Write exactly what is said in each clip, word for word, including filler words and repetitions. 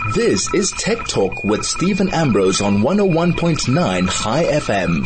This is Tech Talk with Stephen Ambrose on one oh one point nine High F M.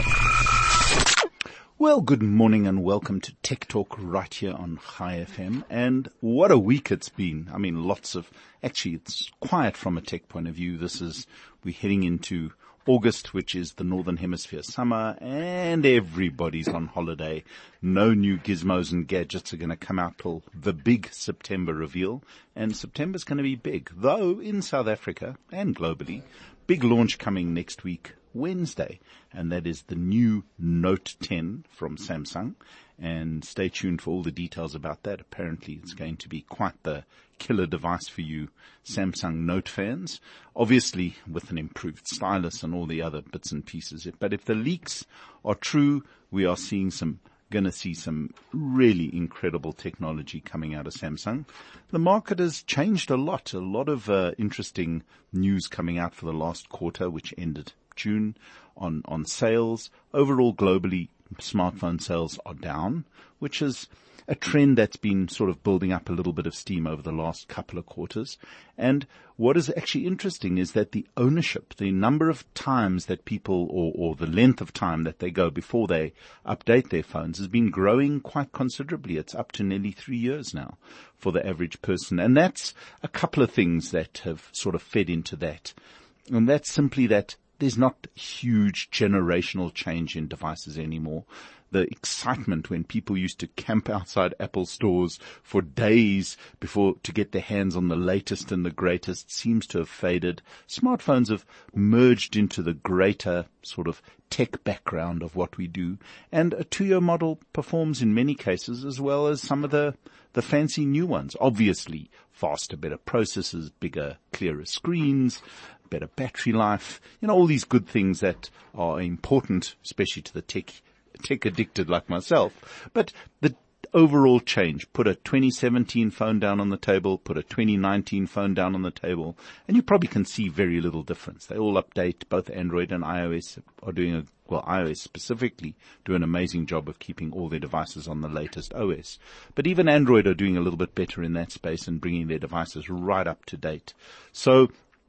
Well, good morning and welcome to Tech Talk right here on High F M. And what a week it's been. I mean, lots of, actually it's quiet from a tech point of view. This is, we're heading into August, which is the Northern Hemisphere summer, and everybody's on holiday. No new gizmos and gadgets are going to come out till the big September reveal, and September's going to be big. Though in South Africa and globally, big launch coming next week, Wednesday, and that is the new Note ten from Samsung. And stay tuned for all the details about that. Apparently it's going to be quite the killer device for you Samsung Note fans, obviously with an improved stylus and all the other bits and pieces. But if the leaks are true, we are seeing some, going to see some really incredible technology coming out of Samsung. The market has changed a lot, a lot of uh, interesting news coming out for the last quarter, which ended June on, on sales. Overall, globally, smartphone sales are down, which is a trend that's been sort of building up a little bit of steam over the last couple of quarters. And what is actually interesting is that the ownership, the number of times that people, or, or the length of time that they go before they update their phones, has been growing quite considerably. It's up to nearly three years now for the average person. And that's a couple of things that have sort of fed into that. And that's simply that there's not huge generational change in devices anymore. The excitement when people used to camp outside Apple stores for days before to get their hands on the latest and the greatest seems to have faded. Smartphones have merged into the greater sort of tech background of what we do. And a two-year model performs in many cases as well as some of the, the fancy new ones. Obviously, faster, better processors, bigger, clearer screens, better battery life, you know, all these good things that are important, especially to the tech, tech addicted like myself. But the overall change, put a twenty seventeen phone down on the table, put a twenty nineteen phone down on the table, and you probably can see very little difference. They all update. Both Android and iOS are doing a, well, iOS specifically do an amazing job of keeping all their devices on the latest O S. But even Android are doing a little bit better in that space and bringing their devices right up to date. So,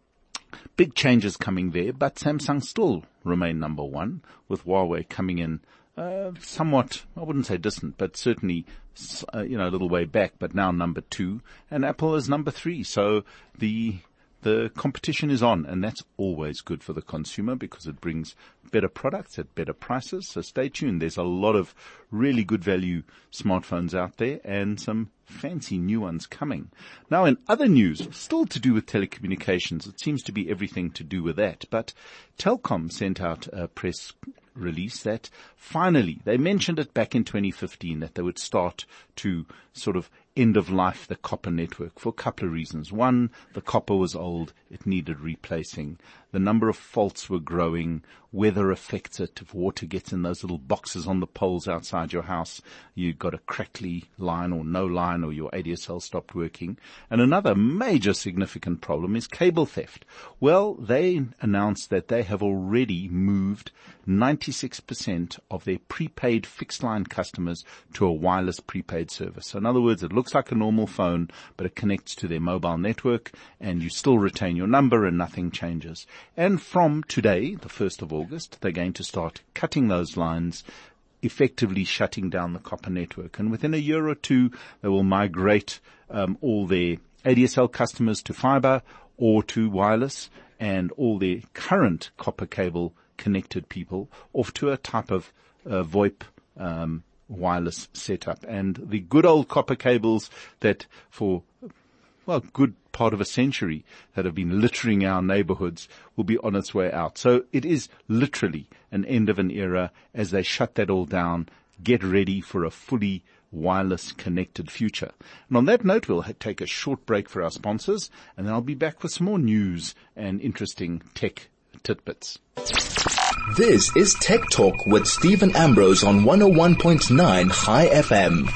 big changes coming there, but Samsung still remain number one, with Huawei coming in uh, somewhat, I wouldn't say distant, but certainly, uh, you know, a little way back, but now number two, and Apple is number three. So the the competition is on, and that's always good for the consumer because it brings better products at better prices. So stay tuned. There's a lot of really good value smartphones out there and some fancy new ones coming. Now, in other news, still to do with telecommunications, it seems to be everything to do with that, but Telkom sent out a press release that finally, they mentioned it back in twenty fifteen, that they would start to sort of end of life the copper network for a couple of reasons. One, the copper was old, it needed replacing. The number of faults were growing, weather affects it. If water gets in those little boxes on the poles outside your house, you've got a crackly line or no line, or your A D S L stopped working. And another major significant problem is cable theft. Well, they announced that they have already moved ninety-six percent of their prepaid fixed line customers to a wireless prepaid service. So in other words, it looks like a normal phone, but it connects to their mobile network and you still retain your number and nothing changes. And from today, the first of August, they're going to start cutting those lines, effectively shutting down the copper network. And within a year or two, they will migrate um, all their A D S L customers to fiber or to wireless, and all their current copper cable connected people off to a type of uh, VoIP um, wireless setup. And the good old copper cables that for, well, good part of a century that have been littering our neighborhoods will be on its way out. So it is literally an end of an era as they shut that all down, get ready for a fully wireless connected future. And on that note, we'll take a short break for our sponsors, and then I'll be back with some more news and interesting tech tidbits. This is Tech Talk with Stephen Ambrose on one oh one point nine High F M.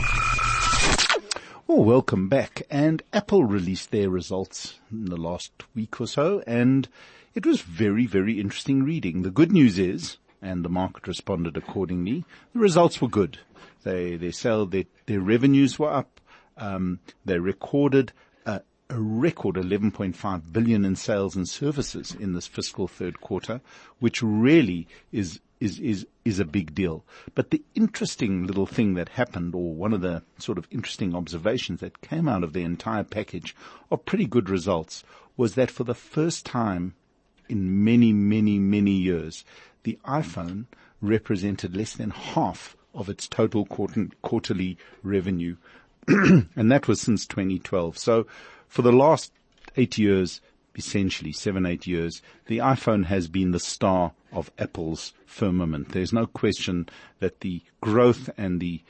Well, welcome back. And Apple released their results in the last week or so, and it was very, very interesting reading. The good news is, and the market responded accordingly, the results were good. They, they sell, their, their revenues were up. Um, they recorded a a record eleven point five billion in sales and services in this fiscal third quarter, which really is is is is a big deal. But the interesting little thing that happened, or one of the sort of interesting observations that came out of the entire package of pretty good results, was that for the first time in many, many, many years, the iPhone represented less than half of its total quarter, quarterly revenue. And that was since twenty twelve. So for the last eight years, essentially seven, eight years, the iPhone has been the star of Apple's firmament. There's no question that the growth and the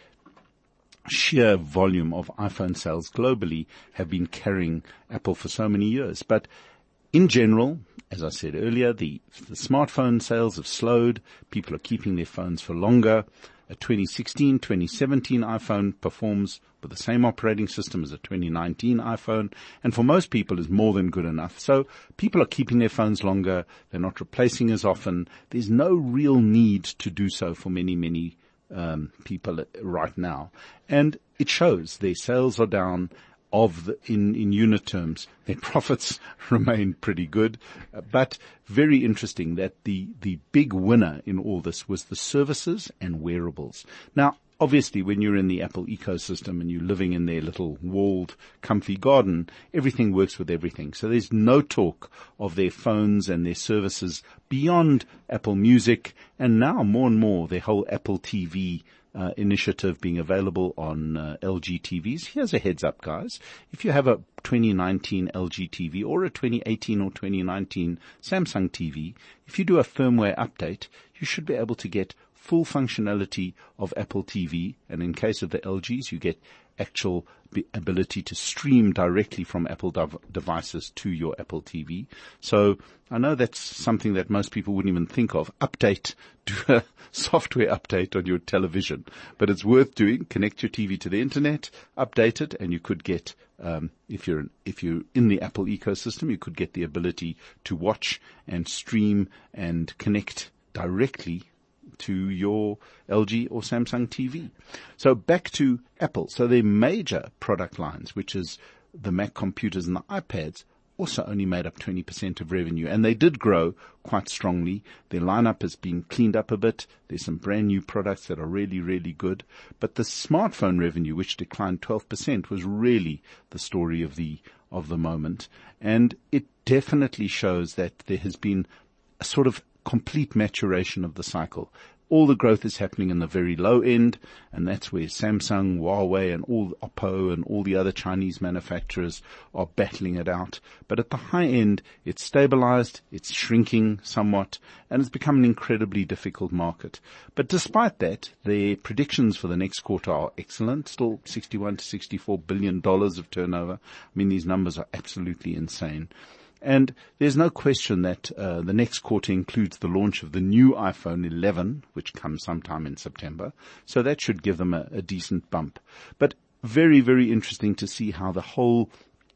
sheer volume of iPhone sales globally have been carrying Apple for so many years. But in general, as I said earlier, the, the smartphone sales have slowed. People are keeping their phones for longer. A twenty sixteen, twenty seventeen iPhone performs with the same operating system as a twenty nineteen iPhone, and for most people is more than good enough. So people are keeping their phones longer. They're not replacing as often. There's no real need to do so for many, many um, people right now. And it shows. Their sales are down. Of the, in, in unit terms, their profits remain pretty good, uh, but very interesting that the, the big winner in all this was the services and wearables. Now, obviously, when you're in the Apple ecosystem and you're living in their little walled, comfy garden, everything works with everything. So there's no talk of their phones and their services beyond Apple Music, and now more and more their whole Apple T V Uh, initiative being available on uh, L G T Vs. Here's a heads up, guys. If you have a twenty nineteen L G T V or a twenty eighteen or twenty nineteen Samsung T V, if you do a firmware update, you should be able to get full functionality of Apple T V. And in case of the L Gs, you get actual ability to stream directly from Apple dev- devices to your Apple T V. So I know that's something that most people wouldn't even think of. Update, do a software update on your television. But it's worth doing. Connect your T V to the internet, update it, and you could get, um, if you're, if you're in the Apple ecosystem, you could get the ability to watch and stream and connect directly to your L G or Samsung T V. So back to Apple. So their major product lines, which is the Mac computers and the iPads, also only made up twenty percent of revenue. And they did grow quite strongly. Their lineup has been cleaned up a bit. There's some brand new products that are really, really good. But the smartphone revenue, which declined twelve percent, was really the story of the, of the moment. And it definitely shows that there has been a sort of complete maturation of the cycle. All the growth is happening in the very low end, and that's where Samsung, Huawei, and all Oppo and all the other Chinese manufacturers are battling it out. But at the high end, it's stabilized, it's shrinking somewhat, and it's become an incredibly difficult market. But despite that, their predictions for the next quarter are excellent, still sixty-one to sixty-four billion dollars of turnover. I mean, these numbers are absolutely insane. And there's no question that uh, the next quarter includes the launch of the new iPhone eleven, which comes sometime in September. So that should give them a, a decent bump. But very, very interesting to see how the whole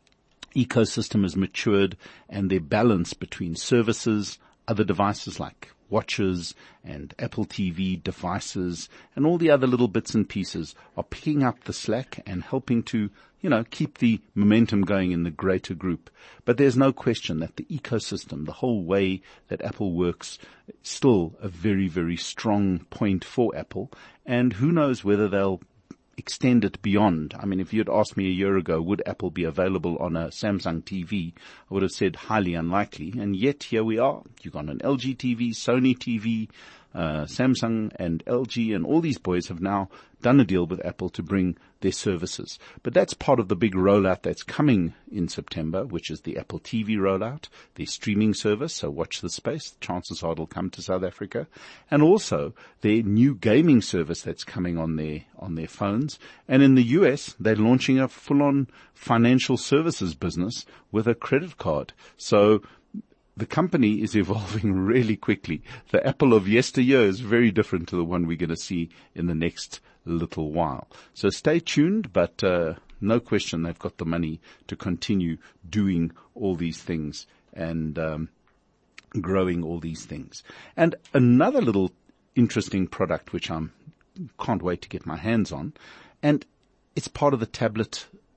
ecosystem has matured and their balance between services, other devices like watches and Apple T V devices and all the other little bits and pieces are picking up the slack and helping to, you know, keep the momentum going in the greater group. But there's no question that the ecosystem, the whole way that Apple works, is still a very, very strong point for Apple. And who knows whether they'll extend it beyond. I mean, if you'd asked me a year ago, would Apple be available on a Samsung T V, I would have said highly unlikely. And yet here we are. You've got an L G T V, Sony T V, uh, Samsung and L G, and all these boys have now done a deal with Apple to bring their services. But that's part of the big rollout that's coming in September, which is the Apple T V rollout, the streaming service. So watch this space. Chances are it'll come to South Africa. And also their new gaming service that's coming on their, on their phones. And in the U S, they're launching a full-on financial services business with a credit card. So the company is evolving really quickly. The Apple of yesteryear is very different to the one we're going to see in the next little while. So stay tuned, but uh, no question they've got the money to continue doing all these things and um, growing all these things. And another little interesting product which I can't wait to get my hands on, and it's part of the tablet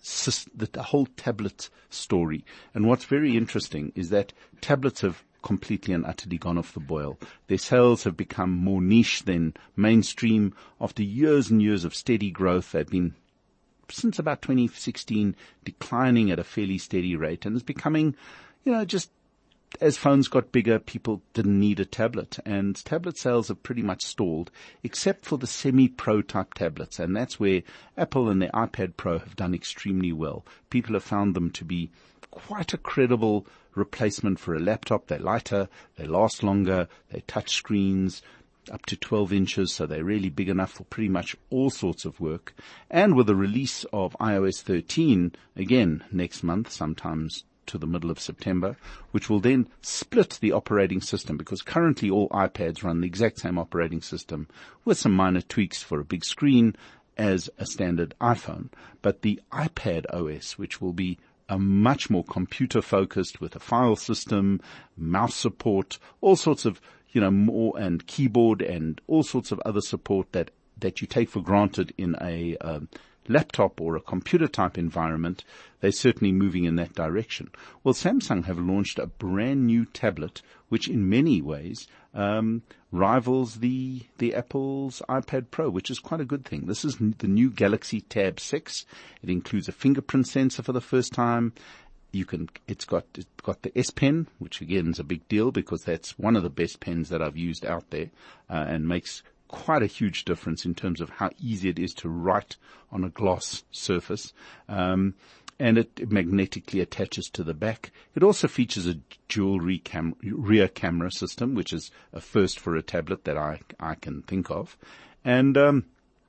the, the whole tablet story. And what's very interesting is that tablets have completely and utterly gone off the boil. Their sales have become more niche than mainstream. After years and years of steady growth, they've been, since about twenty sixteen, declining at a fairly steady rate, and it's becoming, you know, just as phones got bigger, people didn't need a tablet, and tablet sales have pretty much stalled, except for the semi-pro type tablets, and that's where Apple and their iPad Pro have done extremely well. People have found them to be quite a credible replacement for a laptop. They're lighter, they last longer, they touch screens up to twelve inches, so they're really big enough for pretty much all sorts of work. And with the release of i O S thirteen, again, next month, sometimes to the middle of September, which will then split the operating system, because currently all iPads run the exact same operating system with some minor tweaks for a big screen as a standard iPhone. But the iPad O S, which will be a much more computer focused with a file system, mouse support, all sorts of, you know, more, and keyboard and all sorts of other support that, that you take for granted in a, um, laptop or a computer type environment, they're certainly moving in that direction. Well, Samsung have launched a brand new tablet, which in many ways, um, rivals the, the Apple's iPad Pro, which is quite a good thing. This is the new Galaxy Tab six. It includes a fingerprint sensor for the first time. You can, it's got, it's got the S Pen, which again is a big deal because that's one of the best pens that I've used out there, uh, and makes quite a huge difference in terms of how easy it is to write on a gloss surface. Um, and it, it magnetically attaches to the back. It also features a dual cam- rear camera system, which is a first for a tablet that I, I can think of. And, um,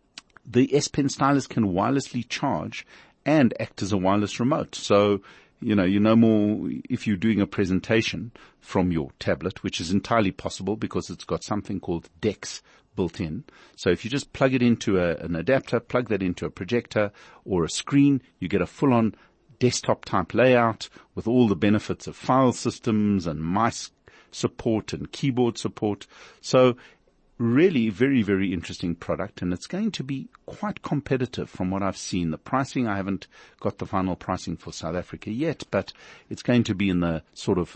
the S Pen stylus can wirelessly charge and act as a wireless remote. So, you know, you know more if you're doing a presentation from your tablet, which is entirely possible because it's got something called DeX built in. So if you just plug it into a, an adapter, plug that into a projector or a screen, you get a full-on desktop type layout with all the benefits of file systems and mice support and keyboard support. So really very, very interesting product, and it's going to be quite competitive from what I've seen. The pricing, I haven't got the final pricing for South Africa yet, but it's going to be in the sort of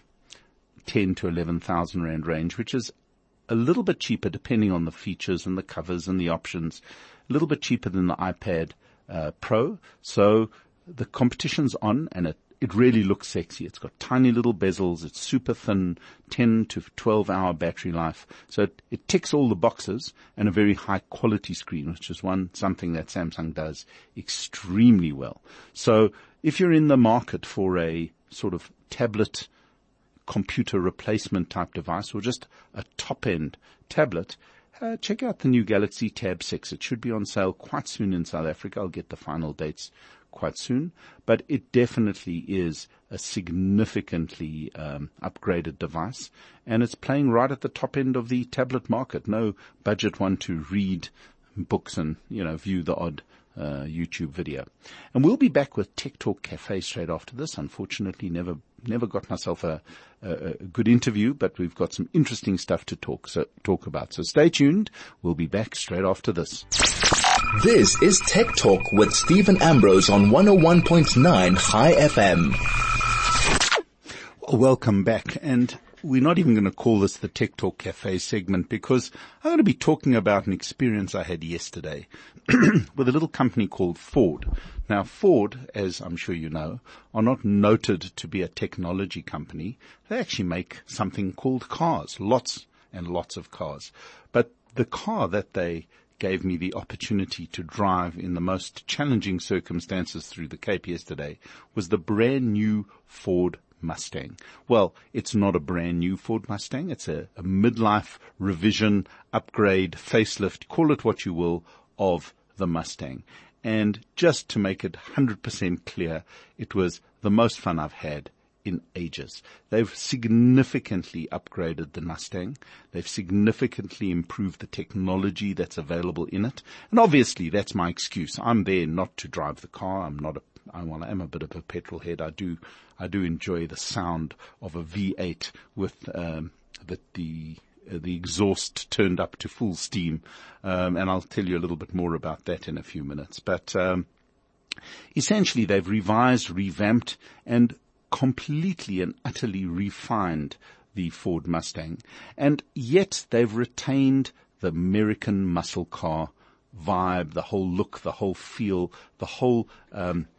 ten to eleven thousand rand range, which is a little bit cheaper depending on the features and the covers and the options, a little bit cheaper than the iPad uh, Pro. So the competition's on, and it, it really looks sexy. It's got tiny little bezels. It's super thin, ten to twelve hour battery life. So it, it ticks all the boxes, and a very high quality screen, which is one, something that Samsung does extremely well. So if you're in the market for a sort of tablet computer replacement type device, or just a top-end tablet, uh, check out the new Galaxy Tab six. It should be on sale quite soon in South Africa. I'll get the final dates quite soon, but it definitely is a significantly um, upgraded device, and it's playing right at the top end of the tablet market. No budget one to read books and, you know, view the odd uh, YouTube video. And we'll be back with Tech Talk Cafe straight after this. Unfortunately, never never got myself a, a, a good interview, but we've got some interesting stuff to talk so talk about. So stay tuned. We'll be back straight after this. This is Tech Talk with Stephen Ambrose on one oh one point nine High F M. Welcome back. And we're not even going to call this the Tech Talk Cafe segment, because I'm going to be talking about an experience I had yesterday with a little company called Ford. Now, Ford, as I'm sure you know, are not noted to be a technology company. They actually make something called cars, lots and lots of cars. But the car that they gave me the opportunity to drive in the most challenging circumstances through the Cape yesterday was the brand new Ford Mustang. Well, it's not a brand new Ford Mustang. It's a, a midlife revision, upgrade, facelift, call it what you will, of the Mustang. And just to make it one hundred percent clear, it was the most fun I've had in ages. They've significantly upgraded the Mustang. They've significantly improved the technology that's available in it. And obviously that's my excuse. I'm there not to drive the car. I'm not a, I, well, I am a bit of a petrol head. I do, I do enjoy the sound of a V eight with, um, the, the, uh, the exhaust turned up to full steam. Um, and I'll tell you a little bit more about that in a few minutes. But, um, Essentially, they've revised, revamped, and completely and utterly refined the Ford Mustang. And yet they've retained the American muscle car vibe, the whole look, the whole feel, the whole um,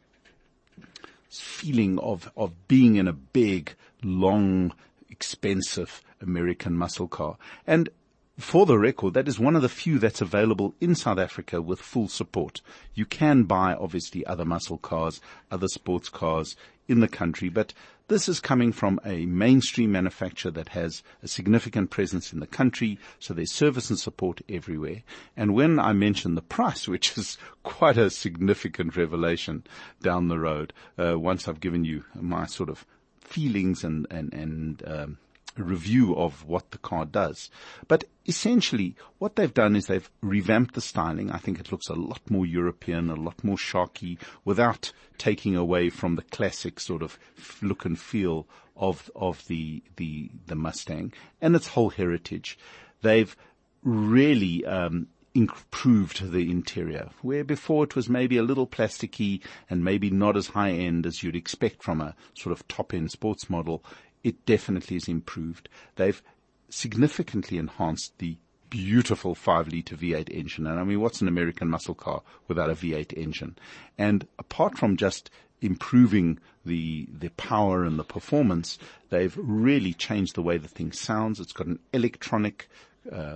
feeling of, of being in a big, long, expensive American muscle car. And for the record, that is one of the few that's available in South Africa with full support. You can buy, obviously, other muscle cars, other sports cars in the country, but this is coming from a mainstream manufacturer that has a significant presence in the country, so there's service and support everywhere. And when I mention the price, which is quite a significant revelation down the road, uh, once I've given you my sort of feelings and, and, and, um, review of what the car does. But essentially, what they've done is they've revamped the styling. I think it looks a lot more European, a lot more sharky, without taking away from the classic sort of look and feel of of the the the Mustang and its whole heritage. They've really um improved the interior, where before it was maybe a little plasticky and maybe not as high end as you'd expect from a sort of top end sports model. It definitely is improved. They've significantly enhanced the beautiful five litre V eight engine. And I mean, what's an American muscle car without a V eight engine? And apart from just improving the the power and the performance, they've really changed the way the thing sounds. It's got an electronic, uh,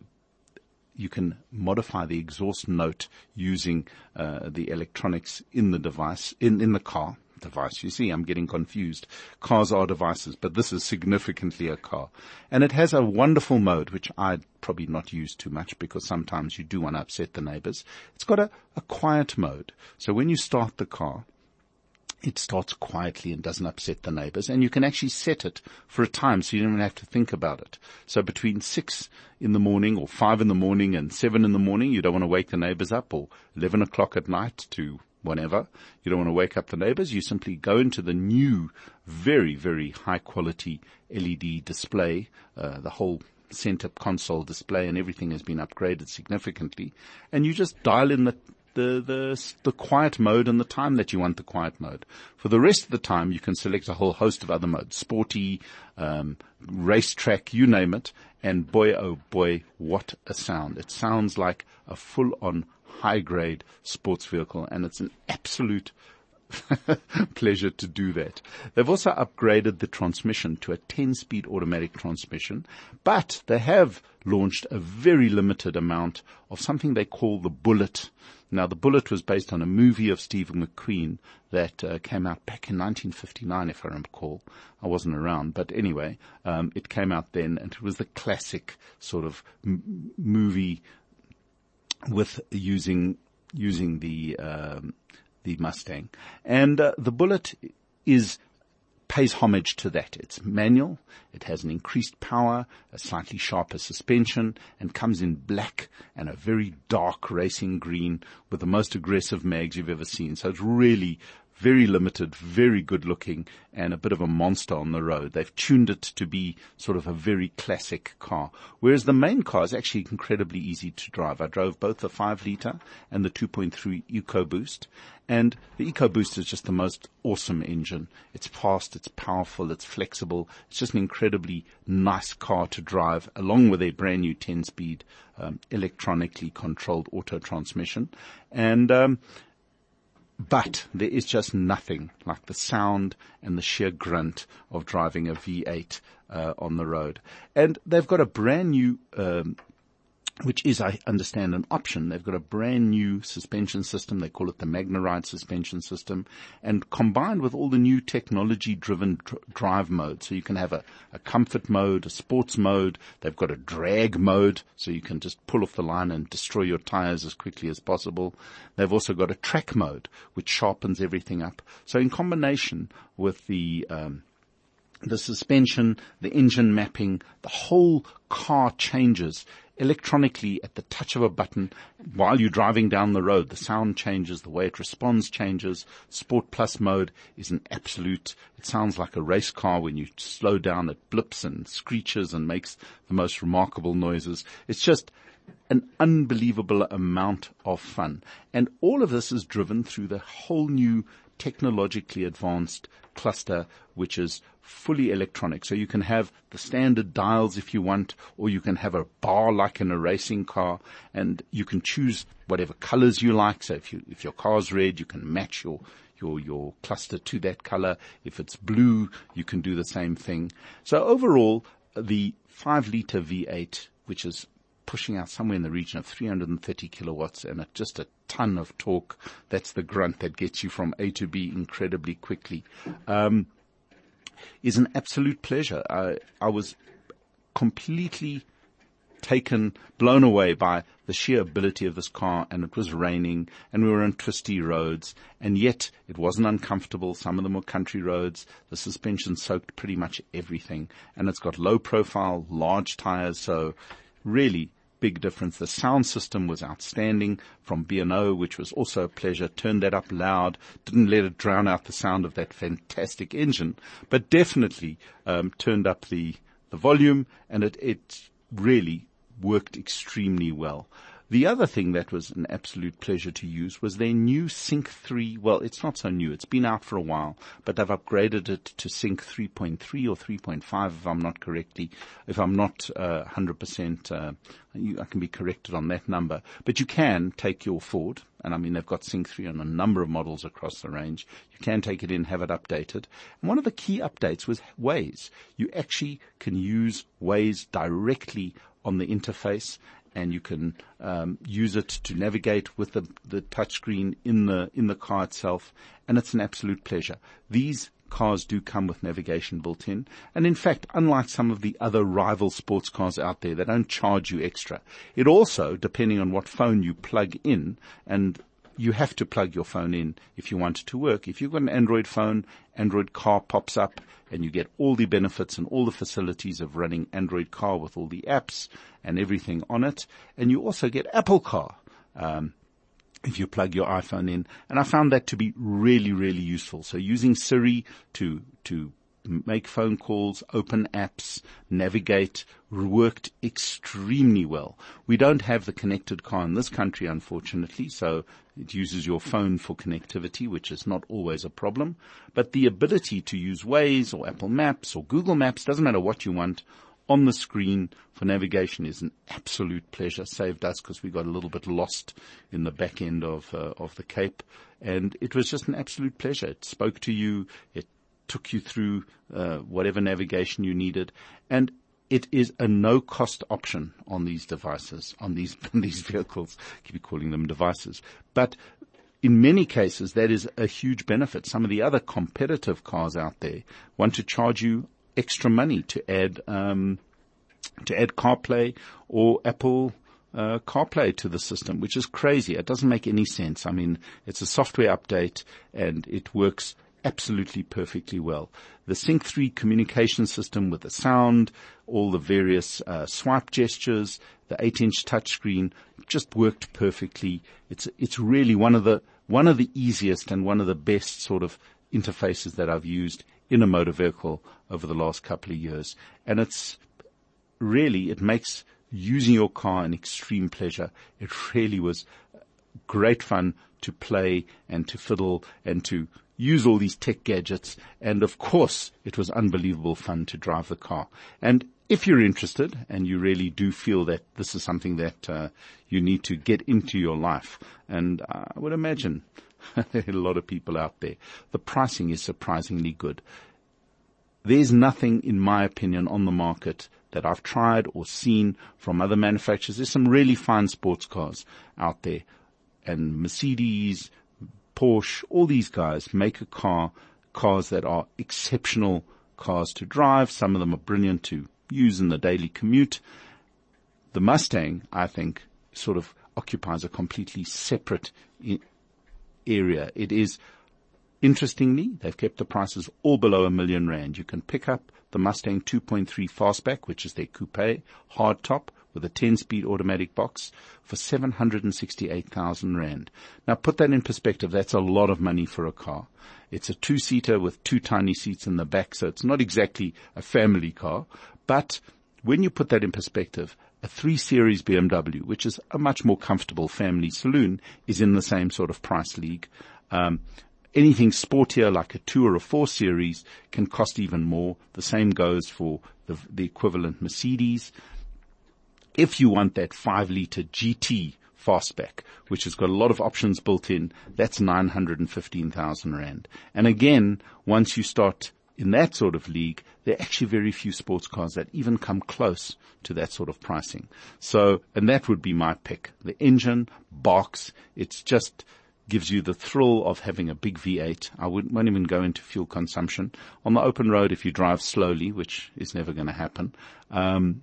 you can modify the exhaust note using uh, the electronics in the device, in, in the car. Device. You see, I'm getting confused. Cars are devices, but this is significantly a car. And it has a wonderful mode, which I'd probably not use too much because sometimes you do want to upset the neighbors. It's got a, a quiet mode. So when you start the car, it starts quietly and doesn't upset the neighbors. And you can actually set it for a time so you don't even have to think about it. So between six in the morning or five in the morning and seven in the morning, you don't want to wake the neighbors up, or eleven o'clock at night to whenever. You don't want to wake up the neighbors. You simply go into the new, very, very high quality L E D display. Uh, the whole center console display and everything has been upgraded significantly. And you just dial in the, the, the, the quiet mode and the time that you want the quiet mode. For the rest of the time, you can select a whole host of other modes. Sporty, um, racetrack, you name it. And boy, oh boy, what a sound. It sounds like a full on high-grade sports vehicle, and it's an absolute pleasure to do that. They've also upgraded the transmission to a ten-speed automatic transmission, but they have launched a very limited amount of something they call the Bullet. Now, the Bullet was based on a movie of Steve McQueen that uh, came out back in nineteen fifty-nine, if I recall. I wasn't around, but anyway, um, it came out then, and it was the classic sort of m- movie with using using the um, the Mustang. And uh, the Bullet is pays homage to that. It's manual, it has an increased power, a slightly sharper suspension, and comes in black and a very dark racing green with the most aggressive mags you've ever seen. So it's really very limited, very good looking, and a bit of a monster on the road. They've tuned it to be sort of a very classic car, whereas the main car is actually incredibly easy to drive. I drove both the five litre and the two point three EcoBoost, and the EcoBoost is just the most awesome engine. It's fast, it's powerful, it's flexible. It's just an incredibly nice car to drive, along with a brand new ten-speed um, electronically controlled auto transmission. And um But there is just nothing like the sound and the sheer grunt of driving a V eight uh, on the road. And they've got a brand new, um, which is, I understand, an option. They've got a brand new suspension system. They call it the MagnaRide suspension system. And combined with all the new technology-driven dr- drive modes, so you can have a, a comfort mode, a sports mode. They've got a drag mode, so you can just pull off the line and destroy your tires as quickly as possible. They've also got a track mode, which sharpens everything up. So in combination with the um, the suspension, the engine mapping, the whole car changes electronically at the touch of a button while you're driving down the road. The sound changes, the way it responds changes. Sport Plus mode is an absolute, it sounds like a race car. When you slow down, it blips and screeches and makes the most remarkable noises. It's just an unbelievable amount of fun. And all of this is driven through the whole new technologically advanced cluster, which is fully electronic. So you can have the standard dials if you want, or you can have a bar like in a racing car, and you can choose whatever colors you like. So if you, if your car's red, you can match your your your cluster to that color. If it's blue, you can do the same thing. So overall, the five liter V eight, which is pushing out somewhere in the region of three hundred thirty kilowatts and a, just a ton of torque. That's the grunt that gets you from A to B incredibly quickly. Um, is an absolute pleasure. I, I was completely taken, blown away by the sheer ability of this car, and it was raining and we were on twisty roads, and yet it wasn't uncomfortable. Some of them were country roads. The suspension soaked pretty much everything, and it's got low profile, large tires, so really big difference. The sound system was outstanding from B and O, which was also a pleasure. Turned that up loud, didn't let it drown out the sound of that fantastic engine, but definitely um, turned up the the volume, and it it really worked extremely well. The other thing that was an absolute pleasure to use was their new Sync three. Well, it's not so new. It's been out for a while, but they've upgraded it to Sync three point three or three point five, if I'm not correctly, if I'm not uh, one hundred percent, uh, you, I can be corrected on that number. But you can take your Ford, and I mean, they've got Sync three on a number of models across the range. You can take it in, have it updated. And one of the key updates was Waze. You actually can use Waze directly on the interface, and you can um, use it to navigate with the, the touchscreen in the in the car itself, and it's an absolute pleasure. These cars do come with navigation built in, and in fact, unlike some of the other rival sports cars out there, they don't charge you extra. It also, depending on what phone you plug in, and you have to plug your phone in if you want it to work. If you've got an Android phone, Android Car pops up, and you get all the benefits and all the facilities of running Android Car with all the apps and everything on it. And you also get Apple Car um, if you plug your iPhone in. And I found that to be really, really useful. So using Siri to to make phone calls, open apps, navigate, worked extremely well. We don't have the connected car in this country, unfortunately, so it uses your phone for connectivity, which is not always a problem. But the ability to use Waze or Apple Maps or Google Maps, doesn't matter what you want, on the screen for navigation is an absolute pleasure. Saved us because we got a little bit lost in the back end of uh, of the Cape, and it was just an absolute pleasure. It spoke to you. It took you through uh, whatever navigation you needed, and it is a no-cost option on these devices, on these on these vehicles. I keep calling them devices, but in many cases that is a huge benefit. Some of the other competitive cars out there want to charge you extra money to add um, to add CarPlay or Apple uh, CarPlay to the system, which is crazy. It doesn't make any sense. I mean, it's a software update and it works absolutely perfectly well. The Sync three communication system with the sound, all the various uh, swipe gestures, the eight inch touchscreen just worked perfectly. It's it's really one of the one of the easiest and one of the best sort of interfaces that I've used in a motor vehicle over the last couple of years. And it's really, it makes using your car an extreme pleasure. It really was great fun to play and to fiddle and to use all these tech gadgets. And of course, it was unbelievable fun to drive the car. And if you're interested and you really do feel that this is something that uh, you need to get into your life, and I would imagine there are a lot of people out there, the pricing is surprisingly good. There's nothing, in my opinion, on the market that I've tried or seen from other manufacturers. There's some really fine sports cars out there, and Mercedes, Porsche, all these guys make a car, cars that are exceptional cars to drive. Some of them are brilliant to use in the daily commute. The Mustang, I think, sort of occupies a completely separate I- area. It is, interestingly, they've kept the prices all below a million rand. You can pick up the Mustang two point three Fastback, which is their coupe, hardtop, with a ten-speed automatic box for seven hundred sixty-eight thousand rand. Now put that in perspective, that's a lot of money for a car. It's a two-seater with two tiny seats in the back, so it's not exactly a family car, but when you put that in perspective, a three series B M W, which is a much more comfortable family saloon, is in the same sort of price league. Um, anything sportier like a two or a four series can cost even more. The same goes for the, the equivalent Mercedes. If you want that five liter G T fastback, which has got a lot of options built in, that's nine hundred fifteen thousand rand. And again, once you start in that sort of league, there are actually very few sports cars that even come close to that sort of pricing. So, and that would be my pick. The engine, box, it's just gives you the thrill of having a big V eight. I wouldn't, won't even go into fuel consumption. On the open road, if you drive slowly, which is never going to happen, um,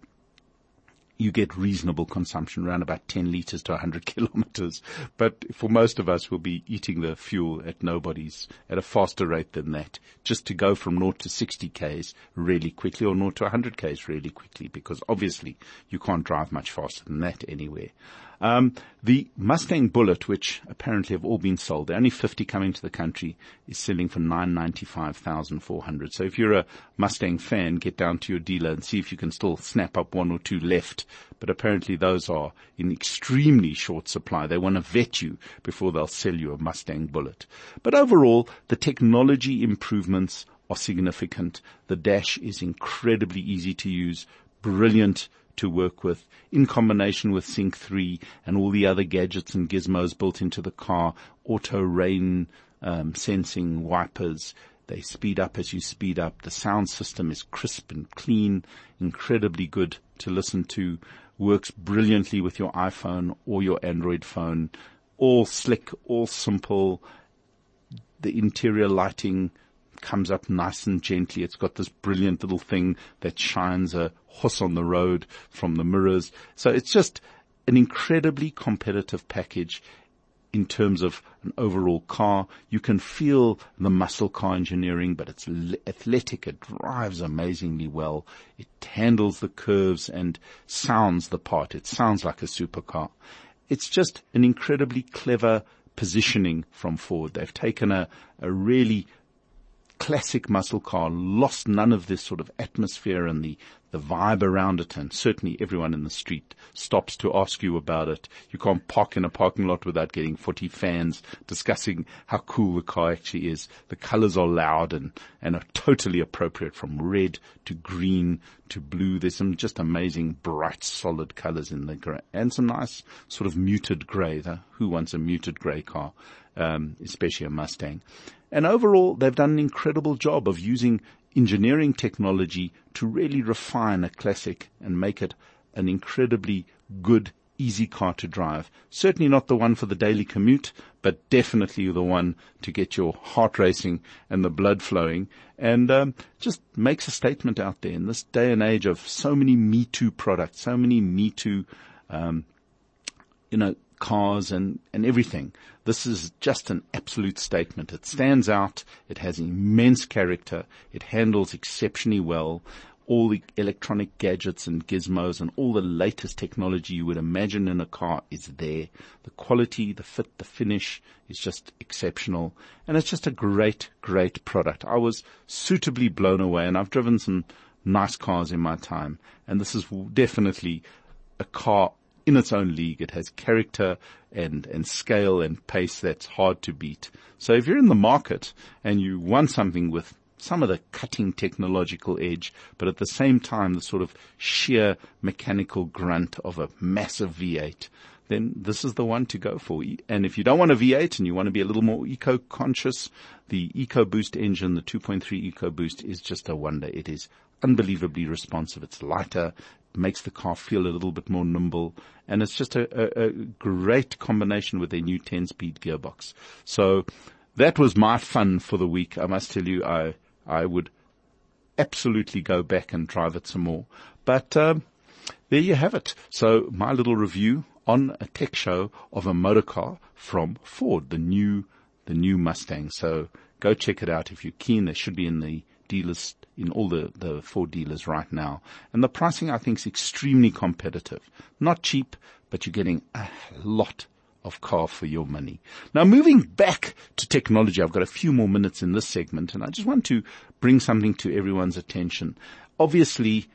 you get reasonable consumption, around about ten liters to one hundred kilometers. But for most of us, we'll be eating the fuel at nobody's, at a faster rate than that, just to go from zero to sixty k's really quickly, or zero to one hundred k's really quickly, because obviously you can't drive much faster than that anywhere. Um, the Mustang Bullitt, which apparently have all been sold, there are only fifty coming to the country, is selling for nine hundred ninety-five thousand four hundred. So if you're a Mustang fan, get down to your dealer and see if you can still snap up one or two left. But apparently those are in extremely short supply. They want to vet you before they'll sell you a Mustang Bullitt. But overall, the technology improvements are significant. The dash is incredibly easy to use, brilliant to work with, in combination with Sync three and all the other gadgets and gizmos built into the car, auto rain um, sensing wipers. They speed up as you speed up. The sound system is crisp and clean, incredibly good to listen to, works brilliantly with your iPhone or your Android phone, all slick, all simple. The interior lighting comes up nice and gently. It's got this brilliant little thing that shines a horse on the road from the mirrors. So it's just an incredibly competitive package in terms of an overall car. You can feel the muscle car engineering, but it's athletic. It drives amazingly well. It handles the curves and sounds the part. It sounds like a supercar. It's just an incredibly clever positioning from Ford. They've taken a, a really classic muscle car, lost none of this sort of atmosphere and the, the vibe around it, and certainly everyone in the street stops to ask you about it. You can't park in a parking lot without getting forty fans discussing how cool the car actually is. The colors are loud and, and are totally appropriate, from red to green to blue. There's some just amazing bright solid colors in the gray, and some nice sort of muted gray. Who wants a muted gray car? Um, especially a Mustang. And overall, they've done an incredible job of using engineering technology to really refine a classic and make it an incredibly good, easy car to drive. Certainly not the one for the daily commute, but definitely the one to get your heart racing and the blood flowing, and um, just makes a statement out there in this day and age of so many Me Too products, so many Me Too, um, you know, cars and, and everything. This is just an absolute statement. It stands out. It has immense character. It handles exceptionally well. All the electronic gadgets and gizmos and all the latest technology you would imagine in a car is there. The quality, the fit, the finish is just exceptional. And it's just a great, great product. I was suitably blown away, and I've driven some nice cars in my time. And this is definitely a car in its own league. It has character and, and scale and pace that's hard to beat. So if you're in the market and you want something with some of the cutting technological edge, but at the same time the sort of sheer mechanical grunt of a massive V eight, then this is the one to go for. And if you don't want a V eight and you want to be a little more eco-conscious, the EcoBoost engine, the two point three EcoBoost, is just a wonder. It is unbelievably responsive. It's lighter, makes the car feel a little bit more nimble, and it's just a, a, a great combination with their new ten-speed gearbox. So that was my fun for the week. I must tell you, I I would absolutely go back and drive it some more. But um, there you have it. So my little review on a tech show of a motor car from Ford, the new the new Mustang. So go check it out if you're keen. They should be in the dealers, in all the, the Ford dealers right now. And the pricing, I think, is extremely competitive. Not cheap, but you're getting a lot of car for your money. Now, moving back to technology, I've got a few more minutes in this segment, and I just want to bring something to everyone's attention. Obviously,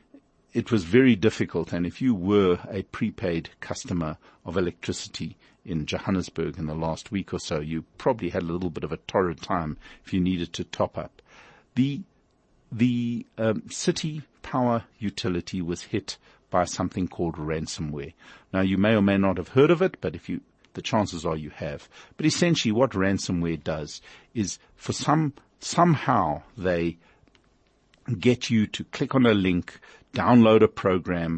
it was very difficult. And if you were a prepaid customer of electricity in Johannesburg in the last week or so, you probably had a little bit of a torrid time if you needed to top up. The, the, um, city power utility was hit by something called ransomware. Now, you may or may not have heard of it, but if you, the chances are you have. But essentially what ransomware does is for some, somehow they get you to click on a link, download a program,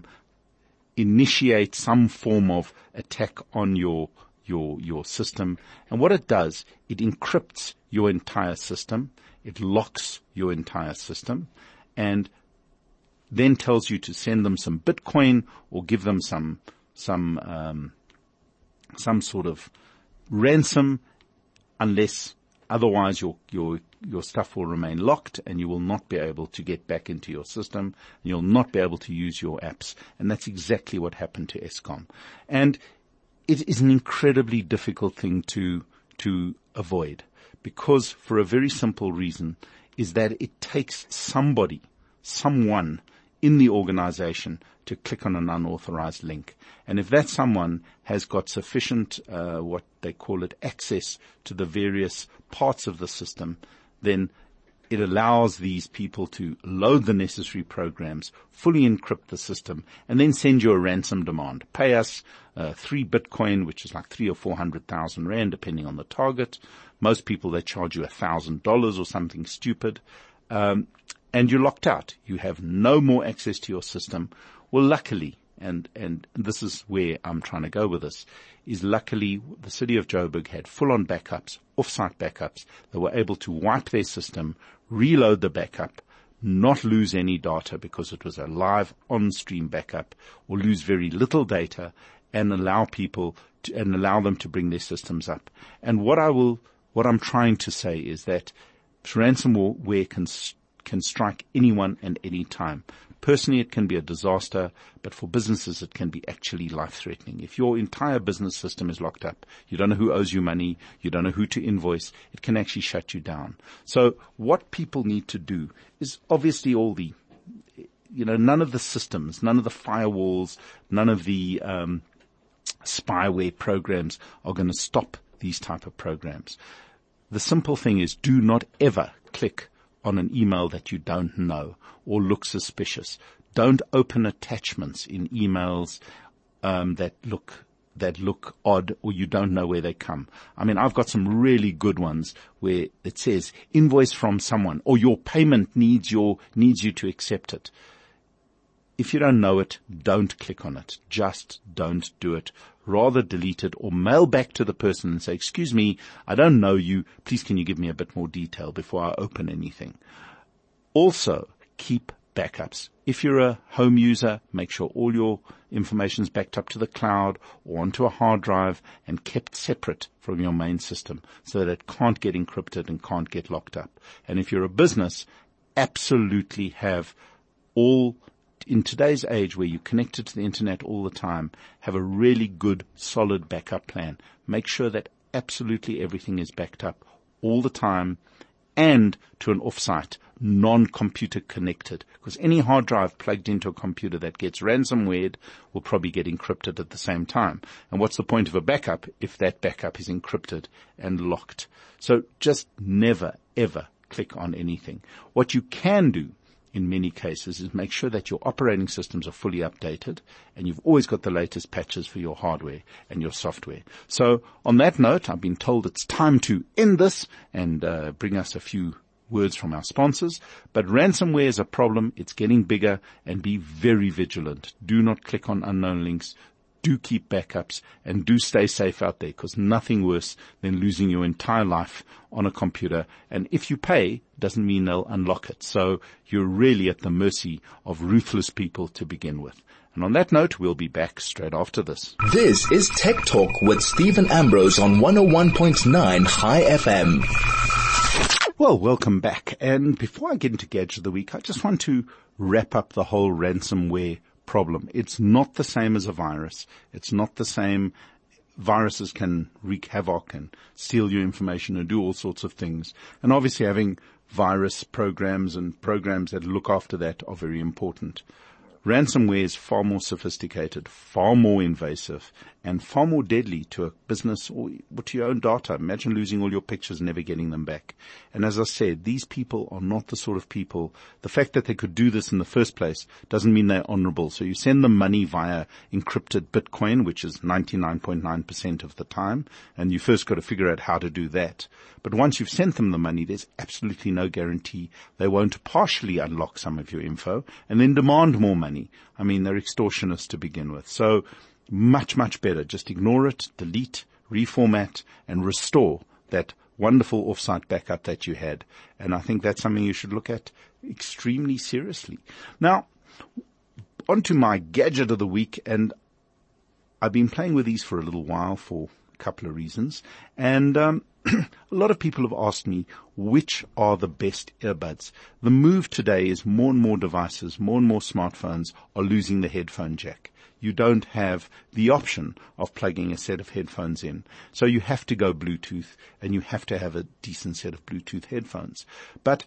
initiate some form of attack on your, your, your system. And what it does, it encrypts your entire system. It locks your entire system and then tells you to send them some Bitcoin or give them some, some, um, some sort of ransom, unless otherwise your, your, your stuff will remain locked and you will not be able to get back into your system and you'll not be able to use your apps. And that's exactly what happened to Eskom. And it is an incredibly difficult thing to, to avoid because for a very simple reason is that it takes somebody, someone in the organization to click on an unauthorized link. And if that someone has got sufficient, uh, what they call it, access to the various parts of the system, then it allows these people to load the necessary programs, fully encrypt the system, and then send you a ransom demand. Pay us uh, three Bitcoin, which is like three or four hundred thousand rand, depending on the target. Most people, they charge you a thousand dollars or something stupid. Um, And you're locked out. You have no more access to your system. Well, luckily, and, and this is where I'm trying to go with this, is luckily the city of Joburg had full-on backups, off-site backups. They were able to wipe their system, reload the backup, not lose any data because it was a live on-stream backup, or lose very little data, and allow people to, and allow them to bring their systems up. And what I will, what I'm trying to say is that ransomware can can strike anyone and any time. Personally, it can be a disaster, but for businesses, it can be actually life-threatening. If your entire business system is locked up, you don't know who owes you money, you don't know who to invoice, it can actually shut you down. So what people need to do is obviously all the, you know, none of the systems, none of the firewalls, none of the um, spyware programs are going to stop these type of programs. The simple thing is do not ever click on an email that you don't know or look suspicious. Don't open attachments in emails um, that look that look odd or you don't know where they come. I mean, I've got some really good ones where it says invoice from someone or your payment needs your needs you to accept it. If you don't know it, don't click on it. Just don't do it. Rather delete it or mail back to the person and say, excuse me, I don't know you. Please can you give me a bit more detail before I open anything? Also, keep backups. If you're a home user, make sure all your information is backed up to the cloud or onto a hard drive and kept separate from your main system so that it can't get encrypted and can't get locked up. And if you're a business, absolutely have all in today's age where you're connected to the internet all the time, have a really good, solid backup plan. Make sure that absolutely everything is backed up all the time and to an offsite, non-computer connected. Because any hard drive plugged into a computer that gets ransomware will probably get encrypted at the same time. And what's the point of a backup if that backup is encrypted and locked? So just never, ever click on anything. What you can do in many cases is make sure that your operating systems are fully updated and you've always got the latest patches for your hardware and your software. So on that note, I've been told it's time to end this and uh, bring us a few words from our sponsors. But ransomware is a problem. It's getting bigger and be very vigilant. Do not click on unknown links. Do keep backups and do stay safe out there because nothing worse than losing your entire life on a computer. And if you pay, doesn't mean they'll unlock it. So you're really at the mercy of ruthless people to begin with. And on that note, we'll be back straight after this. This is Tech Talk with Stephen Ambrose on one oh one point nine High F M. Well, welcome back. And before I get into Gadget of the Week, I just want to wrap up the whole ransomware problem. It's not the same as a virus. It's not the same. Viruses can wreak havoc and steal your information and do all sorts of things. And obviously having virus programs and programs that look after that are very important. ransomware is far more sophisticated, far more invasive, and far more deadly to a business or to your own data. Imagine losing all your pictures and never getting them back. And as I said, these people are not the sort of people, the fact that they could do this in the first place doesn't mean they're honorable. So you send them money via encrypted Bitcoin, which is ninety-nine point nine percent of the time, and you first got to figure out how to do that. But once you've sent them the money, there's absolutely no guarantee they won't partially unlock some of your info and then demand more money. I mean, they're extortionists to begin with. So much, much better. Just ignore it, delete, reformat, and restore that wonderful offsite backup that you had. And I think that's something you should look at extremely seriously. Now, on to my gadget of the week, and I've been playing with these for a little while for a couple of reasons. And um a lot of people have asked me which are the best earbuds. The move today is more and more devices, more and more smartphones are losing the headphone jack. You don't have the option of plugging a set of headphones in. So you have to go Bluetooth, and you have to have a decent set of Bluetooth headphones. But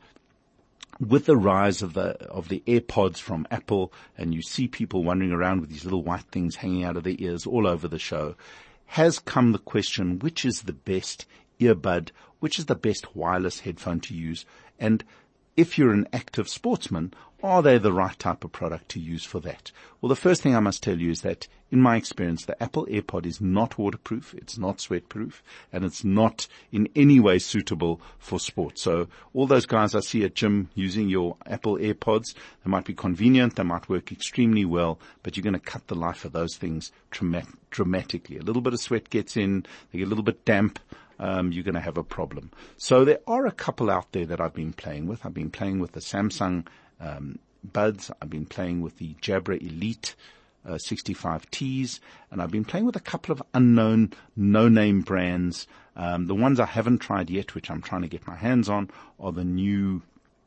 with the rise of the of the AirPods from Apple, and you see people wandering around with these little white things hanging out of their ears all over the show, has come the question, which is the best earbud, which is the best wireless headphone to use, and if you're an active sportsman, are they the right type of product to use for that? Well, the first thing I must tell you is that, in my experience, the Apple AirPod is not waterproof, it's not sweatproof, and it's not in any way suitable for sport. So all those guys I see at gym using your Apple AirPods, they might be convenient, they might work extremely well, but you're going to cut the life of those things dramatically. A little bit of sweat gets in, they get a little bit damp, Um, you're going to have a problem. So there are a couple out there that I've been playing with. I've been playing with the Samsung um, Buds. I've been playing with the Jabra Elite uh, sixty-five Ts, and I've been playing with a couple of unknown, no-name brands. Um, the ones I haven't tried yet, which I'm trying to get my hands on, are the new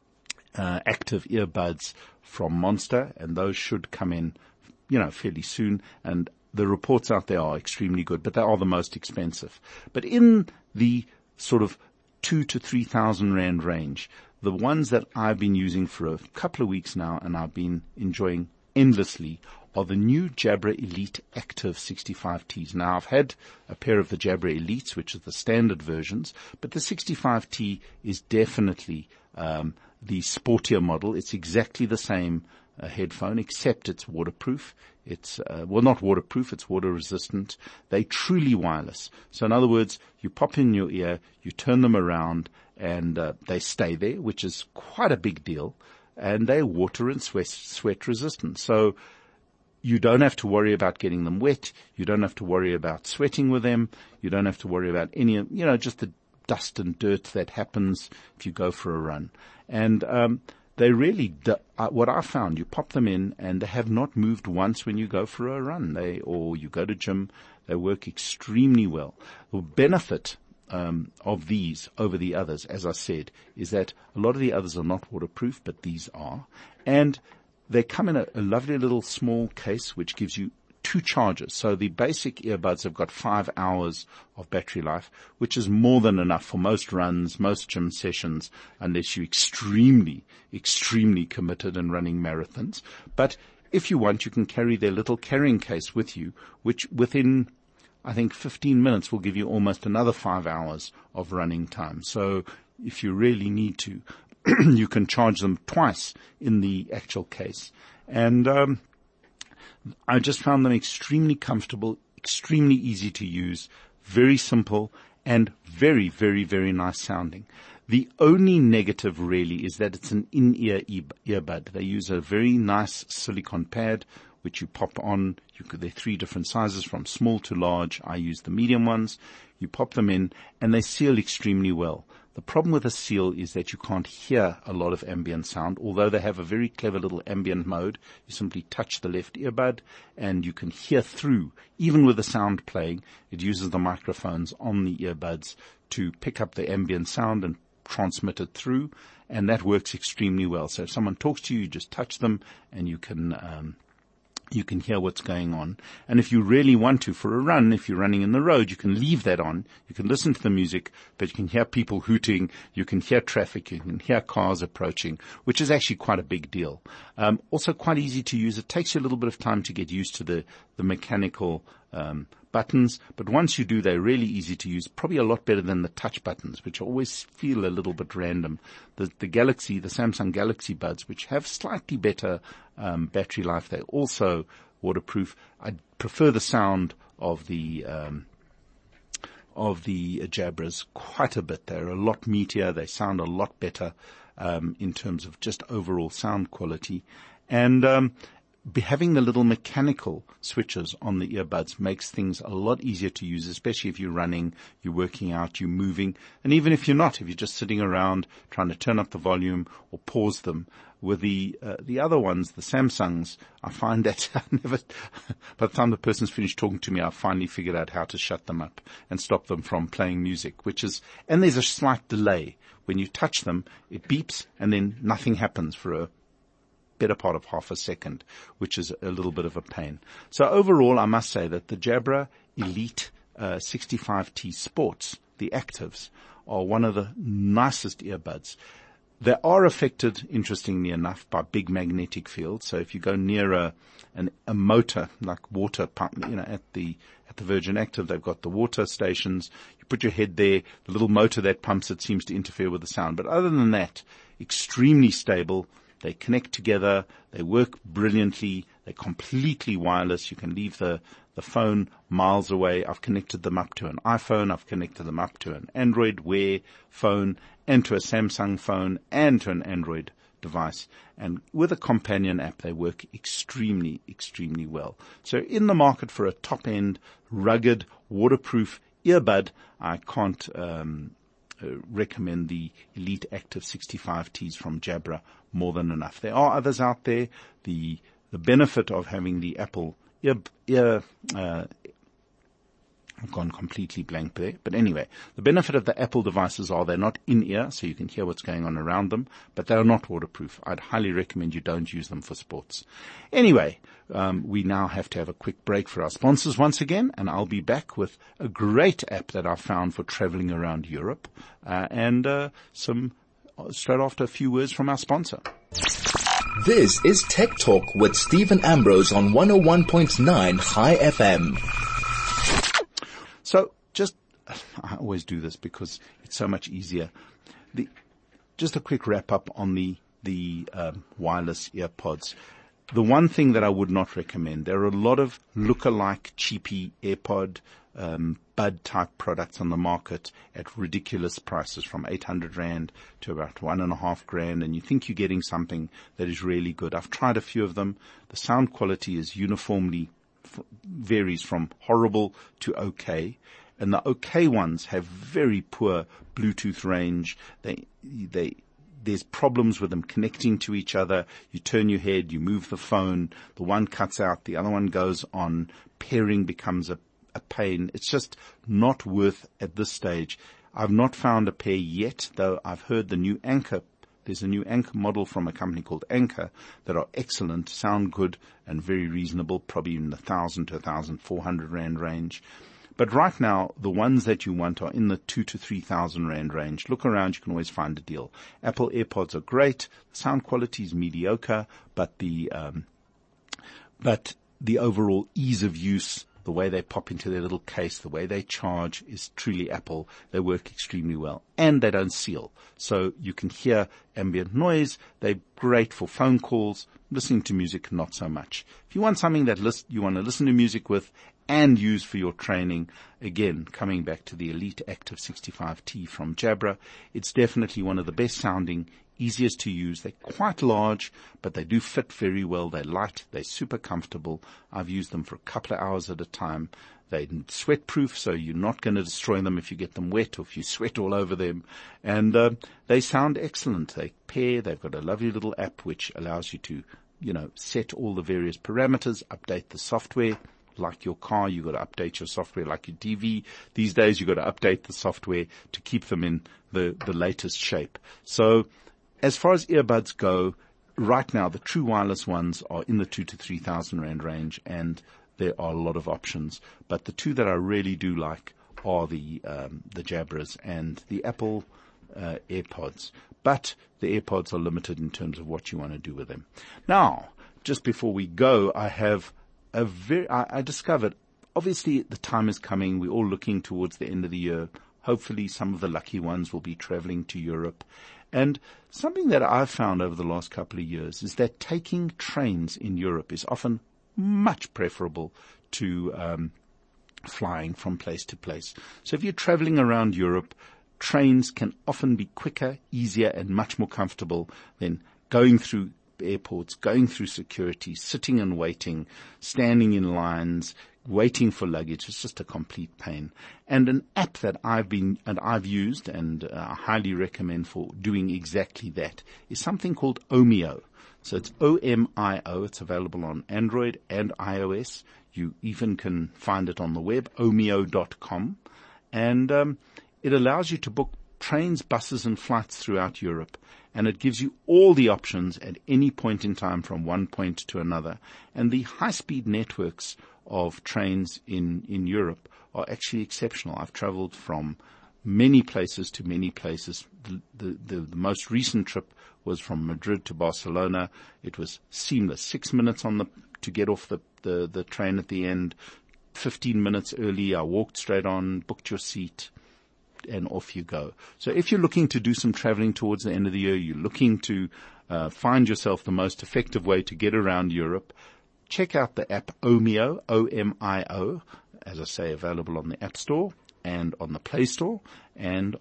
uh, active earbuds from Monster, and those should come in, you know, fairly soon. And the reports out there are extremely good, but they are the most expensive. But in the sort of two to three thousand rand range, the ones that I've been using for a couple of weeks now and I've been enjoying endlessly are the new Jabra Elite Active sixty-five Ts. Now, I've had a pair of the Jabra Elites, which is the standard versions, but the sixty-five T is definitely um, the sportier model. It's exactly the same uh, headphone, except it's waterproof. It's, uh, well, not waterproof, it's water resistant. They're truly wireless. So in other words, you pop in your ear, you turn them around, and uh, they stay there, which is quite a big deal. And they're water and sweat, sweat resistant. So you don't have to worry about getting them wet. You don't have to worry about sweating with them. You don't have to worry about any, you know, just the dust and dirt that happens if you go for a run. And, um, They really, do, uh, what I found, you pop them in and they have not moved once when you go for a run. They, or you go to gym, they work extremely well. The benefit um, of these over the others, as I said, is that a lot of the others are not waterproof, but these are. And they come in a, a lovely little small case which gives you two charges. So the basic earbuds have got five hours of battery life, which is more than enough for most runs, most gym sessions, unless you're extremely, extremely committed and running marathons. But if you want, you can carry their little carrying case with you, which within, I think, fifteen minutes will give you almost another five hours of running time. So if you really need to, you can charge them twice in the actual case. And, um, I just found them extremely comfortable, extremely easy to use, very simple, and very, very, very nice sounding. The only negative really is that it's an in-ear earbud. They use a very nice silicone pad, which you pop on. You could, they're three different sizes from small to large. I use the medium ones. You pop them in, and they seal extremely well. The problem with a seal is that you can't hear a lot of ambient sound, although they have a very clever little ambient mode. You simply touch the left earbud and you can hear through, even with the sound playing. It uses the microphones on the earbuds to pick up the ambient sound and transmit it through, and that works extremely well. So if someone talks to you, you just touch them and you can um You can hear what's going on. And if you really want to, for a run, if you're running in the road, you can leave that on. You can listen to the music, but you can hear people hooting. You can hear traffic. You can hear cars approaching, which is actually quite a big deal. Um, also quite easy to use. It takes you a little bit of time to get used to the, the mechanical, um, buttons, but once you do, they're really easy to use, probably a lot better than the touch buttons, which always feel a little bit random. The, the Galaxy, the Samsung Galaxy Buds, which have slightly better um, battery life, they're also waterproof. I prefer the sound of the um, of the Jabras quite a bit. They're a lot meatier. They sound a lot better um, in terms of just overall sound quality, and um, Be having the little mechanical switches on the earbuds makes things a lot easier to use, especially if you're running, you're working out, you're moving, and even if you're not, if you're just sitting around trying to turn up the volume or pause them. With the uh, the other ones, the Samsungs, I find that I never, by the time the person's finished talking to me, I finally figured out how to shut them up and stop them from playing music, which is, and there's a slight delay. When you touch them, it beeps and then nothing happens for a better part of half a second, which is a little bit of a pain. So overall, I must say that the Jabra Elite uh, sixty-five T Sports, the Actives, are one of the nicest earbuds. They are affected, interestingly enough, by big magnetic fields. So if you go near a, an, a motor, like water pump, you know, at the, at the Virgin Active, they've got the water stations. You put your head there, the little motor that pumps it seems to interfere with the sound. But other than that, extremely stable. They connect together. They work brilliantly. They're completely wireless. You can leave the, the phone miles away. I've connected them up to an iPhone. I've connected them up to an Android Wear phone and to a Samsung phone and to an Android device. And with a companion app, they work extremely, extremely well. So in the market for a top-end, rugged, waterproof earbud, I can't um Uh, recommend the Elite Active sixty-five Ts from Jabra more than enough. There are others out there. The the benefit of having the Apple ear, ear uh, I've gone completely blank there. But anyway, the benefit of the Apple devices are they're not in-ear, so you can hear what's going on around them, but they are not waterproof. I'd highly recommend you don't use them for sports. Anyway, um, we now have to have a quick break for our sponsors once again, and I'll be back with a great app that I found for traveling around Europe, uh, and uh, some straight after a few words from our sponsor. This is Tech Talk with Stephen Ambrose on one oh one point nine High F M. So just, I always do this because it's so much easier. The, just a quick wrap up on the, the um, wireless earpods. The one thing that I would not recommend, there are a lot of look-alike cheapy AirPod, um, bud type products on the market at ridiculous prices from eight hundred rand to about one and a half grand. And you think you're getting something that is really good. I've tried a few of them. The sound quality is uniformly varies from horrible to okay, and the okay ones have very poor Bluetooth range. They, they, there's problems with them connecting to each other. You turn your head, you move the phone, the one cuts out, the other one goes on. Pairing becomes a, a pain. It's just not worth at this stage. I've not found a pair yet, though I've heard the new Anker. There's a new Anker model from a company called Anker that are excellent, sound good, and very reasonable, probably in the one thousand to one thousand four hundred rand range. But right now, the ones that you want are in the two to three thousand rand range. Look around, you can always find a deal. Apple AirPods are great. The sound quality is mediocre, but the um, but the overall ease of use, the way they pop into their little case, the way they charge is truly Apple. They work extremely well. And they don't seal. So you can hear ambient noise. They're great for phone calls. Listening to music, not so much. If you want something that list, you want to listen to music with and use for your training, again, coming back to the Elite Active sixty-five T from Jabra, it's definitely one of the best sounding, easiest to use. They're quite large, but they do fit very well. They're light. They're super comfortable. I've used them for a couple of hours at a time. They're sweat proof, so you're not going to destroy them if you get them wet or if you sweat all over them. And uh, they sound excellent. They pair. They've got a lovely little app which allows you to, you know, set all the various parameters, update the software. Like your car, you've got to update your software. Like your T V, these days you've got to update the software to keep them in the, the latest shape. So as far as earbuds go, right now, the true wireless ones are in the two to three thousand rand range, and there are a lot of options. But the two that I really do like are the um, the Jabras and the Apple uh, AirPods. But the AirPods are limited in terms of what you want to do with them. Now, just before we go, I have a very, I, I discovered, obviously the time is coming. We're all looking towards the end of the year. Hopefully some of the lucky ones will be traveling to Europe. And something that I've found over the last couple of years is that taking trains in Europe is often much preferable to um, flying from place to place. So if you're traveling around Europe, trains can often be quicker, easier, and much more comfortable than going through airports, going through security, sitting and waiting, standing in lines, waiting for luggage. It's just a complete pain. And an app that I've been, and I've used and uh, I highly recommend for doing exactly that is something called Omio. So it's O M I O. It's available on Android and iOS. You even can find it on the web, omio dot com. And, um, it allows you to book trains, buses, and flights throughout Europe, and it gives you all the options at any point in time from one point to another. And the high-speed networks of trains in, in Europe are actually exceptional. I've traveled from many places to many places. The, the, the, the most recent trip was from Madrid to Barcelona. It was seamless. Six minutes on the to get off the, the, the train at the end. Fifteen minutes early, I walked straight on, booked your seat, and off you go. So if you're looking to do some traveling towards the end of the year, you're looking to uh, find yourself the most effective way to get around Europe, check out the app Omio, O M I O, as I say, available on the App Store and on the Play Store and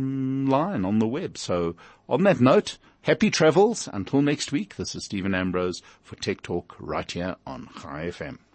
online on the web. So on that note, happy travels. Until next week, this is Stephen Ambrose for Tech Talk right here on Chai F M.